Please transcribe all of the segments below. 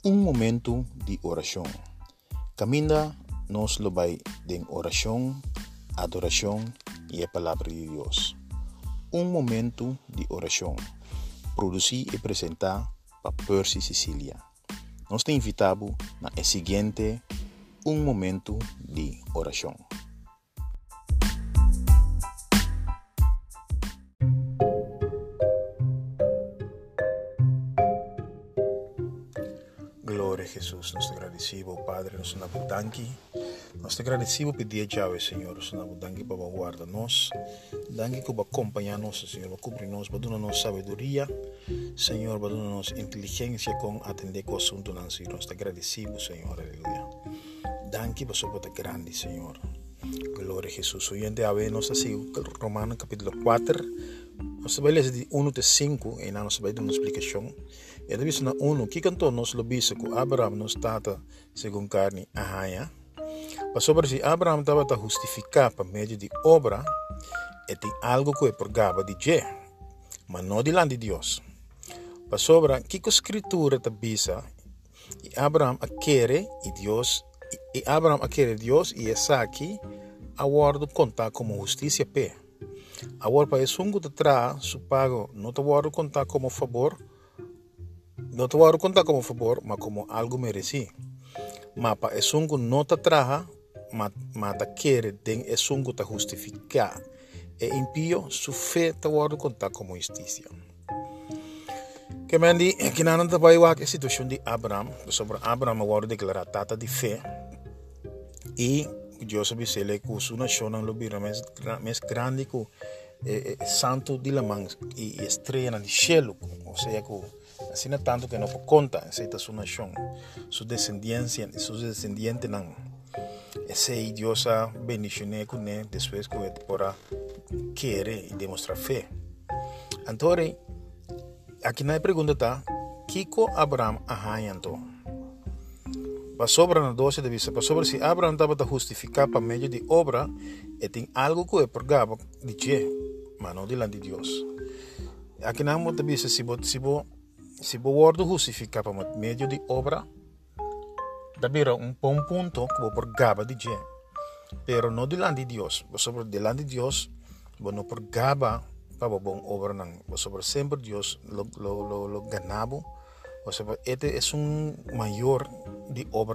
Um momento de oração. Caminha nos vai de oração, adoração e a palavra de Deus. Um momento de oração. Produzir e apresentar para Percy Sicília. Nós te invitamos na seguinte um momento de oração. Glória a Jesus, nós te agradecemos, Padre, nós te danki. Nós te agradecemos por dia Yahweh, Senhor, nós te danki para guardar-nos. Danki que vai acompanhar-nos, Senhor, vai cobrir-nos, vai dar-nos sabedoria, Senhor, vai dar-nos inteligência com atender com o assunto, Senhor. Nós te agradecemos, Senhor, aleluia. Danki para sobre te grande, Senhor. Glória a Jesus. Hoje em dia, nós estamos Romanos capítulo 4. Nós vamos ler de 1 até 5 e nós vamos dar uma explicação. E daí na 1, que cantou nós lo bisa que Abraham nos tata segundo carne ahaya. Mas sobre si Abraham estava a justificar por meio de obra e tem algo que é por gaba de je, mas não de de Deus. Mas sobre que a escritura te bisa e Abraham quer e Deus e Abraham quer Deus e essa aqui a guardo contar como justiça pe. Agora para isso que te traz su pago não te guardo contar como favor. Não te voy a contar como favor, mas como algo mereci. Mas para eso que não te traja, mas te quiere, den eso que te justifica. E impio, su fe te voy a contar como justicia. Que me di, que não te vai a situação de Abraham, sobre Abraham voy a declarar tata de fe. E Deus sabe se ele com sua nação não lobira mais grande que santo de la mãe e estrela de cielo, ou seja, assim não tanto que não por conta essa sua nação, sua descendência, seus descendentes não. Esse Deus a bendicionar com ele depois que ele para querer e demonstrar fé. Então, aqui na pergunta está, Kiko Abraham ahanyanto. Para sobre na 12 de vista, para sobre se Abraham estava a justificar para meio de obra, e tem algo que é por gaba de je, mas não diante de Deus. Aqui na outra vista, se você justificar para meio de obra, davvero um bom ponto que por gaba de je, pero não diante de Deus. Sobre diante de Deus, não por gaba para bom obra não. Sobre sempre Deus lo ganabo. O sea, este es un mayor de obra.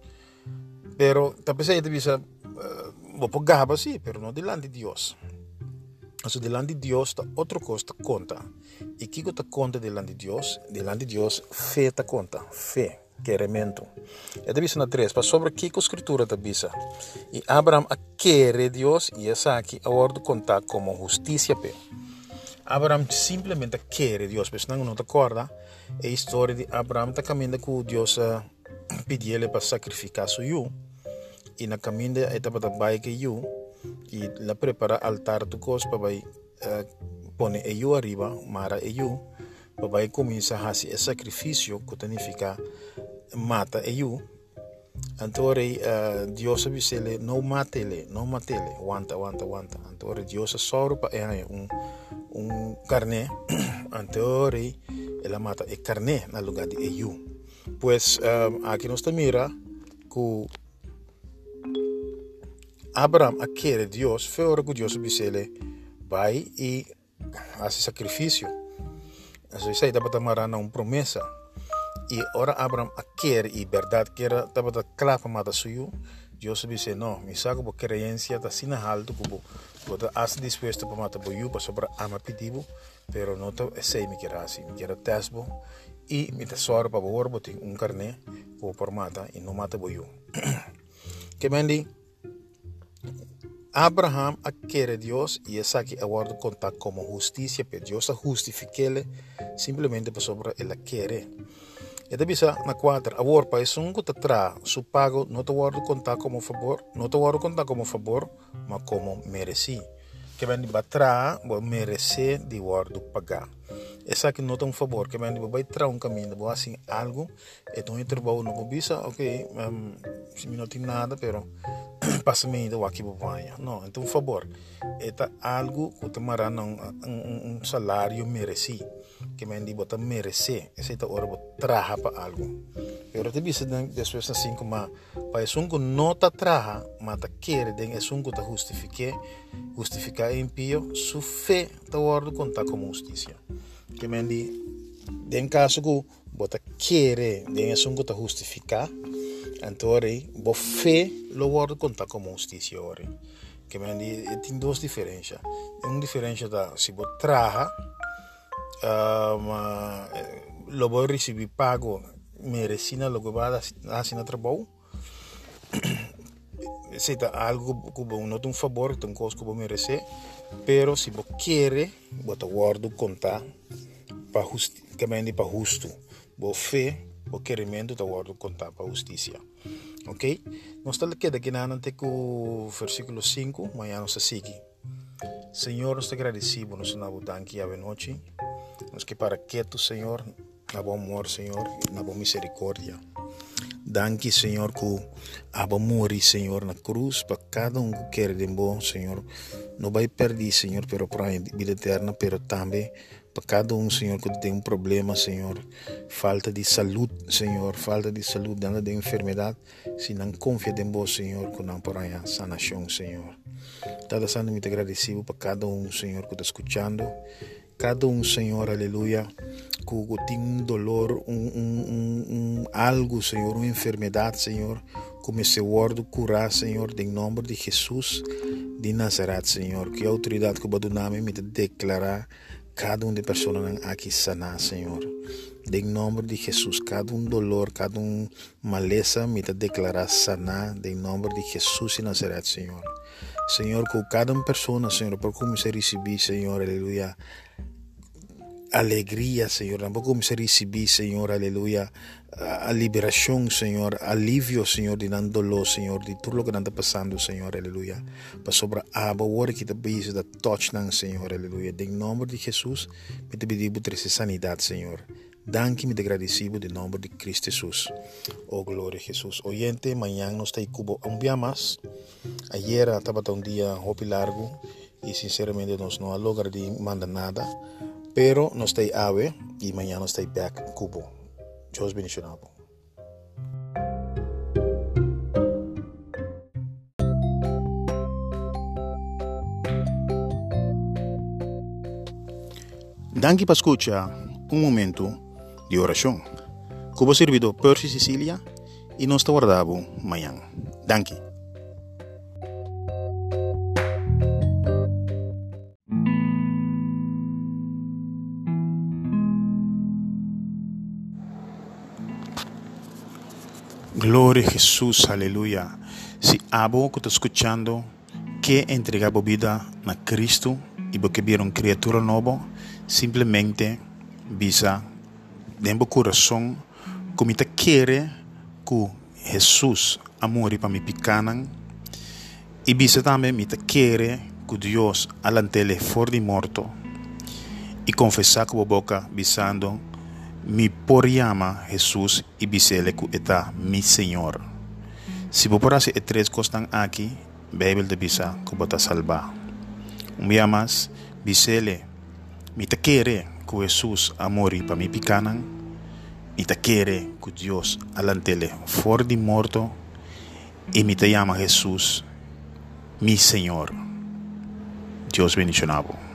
Pero, tal vez bisa, por gaba sí, pero no delante de Dios. O sea, delante de Dios está otra cosa te conta. Y ¿qué te conta delante de Dios? Delante de Dios, fe te conta. Fe, querimiento. Este bisa na 3, para sobre qué escritura te bisa. Y Abraham quiere Dios y esa aquí ahora conta como justicia pe. Abraham simplesmente quer Deus, mas não te acorda a história de Abraham está caminhando com Deus pediu ele para sacrificar seu filho e na caminho ele estava para baixo que filho e lá prepara altar do cos para vai pôr o filho arriba, mara o filho para vai começar a fazer sacrifício que significa mata o filho. Então Deus disse ele não mate ele, aguanta. Então Deus só para carne, então ele mata a carne no lugar de eu. Pois aqui nós mira que Abraham quer Deus, foi hora que Deus disse ele vai e faz sacrifício. Isso aí dá para tomar uma promessa. E ora Abraham quer e verdade que era estava a clava mata suyo. Deus disse não, me saco por creencia da sina alto que você está disposto para matar boiu para sobre ama pedido, pero não te sei me quer assim, me quer tesbo e me tesoro para boar botin carne ou por mata e não mata boiu. Que mendi Abraham quer Deus e essa aqui agora conta como justiça, porque Deus justifica ele simplesmente para sobre ele quer. E daí bisa na 4, agora para isso que te traz su pago não te guardo contar como favor, mas como mereci. Que vem de batra, vou merecer de guardo pagar. Essa aqui não é um favor, que vem de vai trazer caminho, vou assim algo, então eu trabalho no bisa, ok, se não tem nada, pero passamento o aqui banha. Não, então, por favor, é algo que te mará salário merecido. Que me digo, botar merecer. Essa é a hora de trabalhar para algo. Eu te disse, depois assim, como para isso que não está trabalhando, mas está querendo, é isso que está justificar impio, su fé está hora de contar como justiça. Que me digo, em caso que você quer, é isso que está justificar. Então, a fé lo guardo contar como justiça. Que tem duas diferenças. Uma diferença da se você trabalha, lo vou receber pago merecina lo que vai fazer no trabalho. Se é algo que não tem favor, tem coisa que você merece, pero se você quer, você guarda contar para justo. Boa fé, o querimento está guarda contar para justiça. Ok? Nós estamos aqui na o versículo 5, amanhã nós seguimos. Senhor, nós te agradecemos, nós te damos a noite. Nós que para que tu, Senhor, na bom amor, Senhor, na boa misericórdia. Danke, Senhor, que a bom morrer, Senhor, na cruz, para cada que quer de bom, Senhor. Não vai perder, Senhor, pero para a vida eterna, pero também para cada Senhor, que tem problema, Senhor. Falta de saúde, Senhor, dentro de enfermidade. Se não confia em vós, Senhor, que não para a sanação, Senhor. Está sendo muito agradecido para cada Senhor, que está escutando. Cada Senhor, aleluia, que tem dolor, algo, Senhor, uma enfermidade, Senhor, como esse word curar, Senhor, em nome de Jesus de Nazaré, Senhor, que a autoridade que o nome me declarar cada de pessoas aqui sanar, Senhor. Em nome de Jesus, cada dolor, cada maleza me declarar sanar, em nome de Jesus de Nazaré, Senhor. Senhor, que cada pessoa, Senhor, por como se receber, Senhor, aleluia, alegria, Senhor, por como se receber, Senhor, aleluia, a liberação, Senhor, alívio, Senhor, de não dolor, Senhor, de tudo o que está passando, Senhor, aleluia, para sobre a hora que está busy da touch, Senhor, aleluia, em nome de Jesus, me te pedir por essa sanidade, Senhor. Danke, me agradecido em nome de Cristo Jesus. Oh, glória a Jesus. Oyente, amanhã nós estamos um dia mais. Ayer estava dia largo e sinceramente nós não há lugar de mandar nada. Pero nós estamos ave e amanhã nós estamos back Cubo. Deus bendicionado. Danke para escuchar momento de oração. Como servidor Percy Sicília e nós te guardamos amanhã. Danke. Glória a Jesus, aleluia. Se abo que está escutando que entregar a vida na Cristo e porque viram criatura nova, simplesmente visa dentro do coração como te quer que Jesus amore para me picanan e visa também me te quer que Deus alantele fora de morto e confessar com a boca visando me por llama Jesus e bisele que está mi Senhor. Se você por hacer três coisas aqui, Bíblia de bisa que você salva. Dia mais, bisele me te quer que Jesus amore para mi picanan e te quer que Deus alantele fora de morto e me te llama Jesus mi Senhor. Deus bendicionado.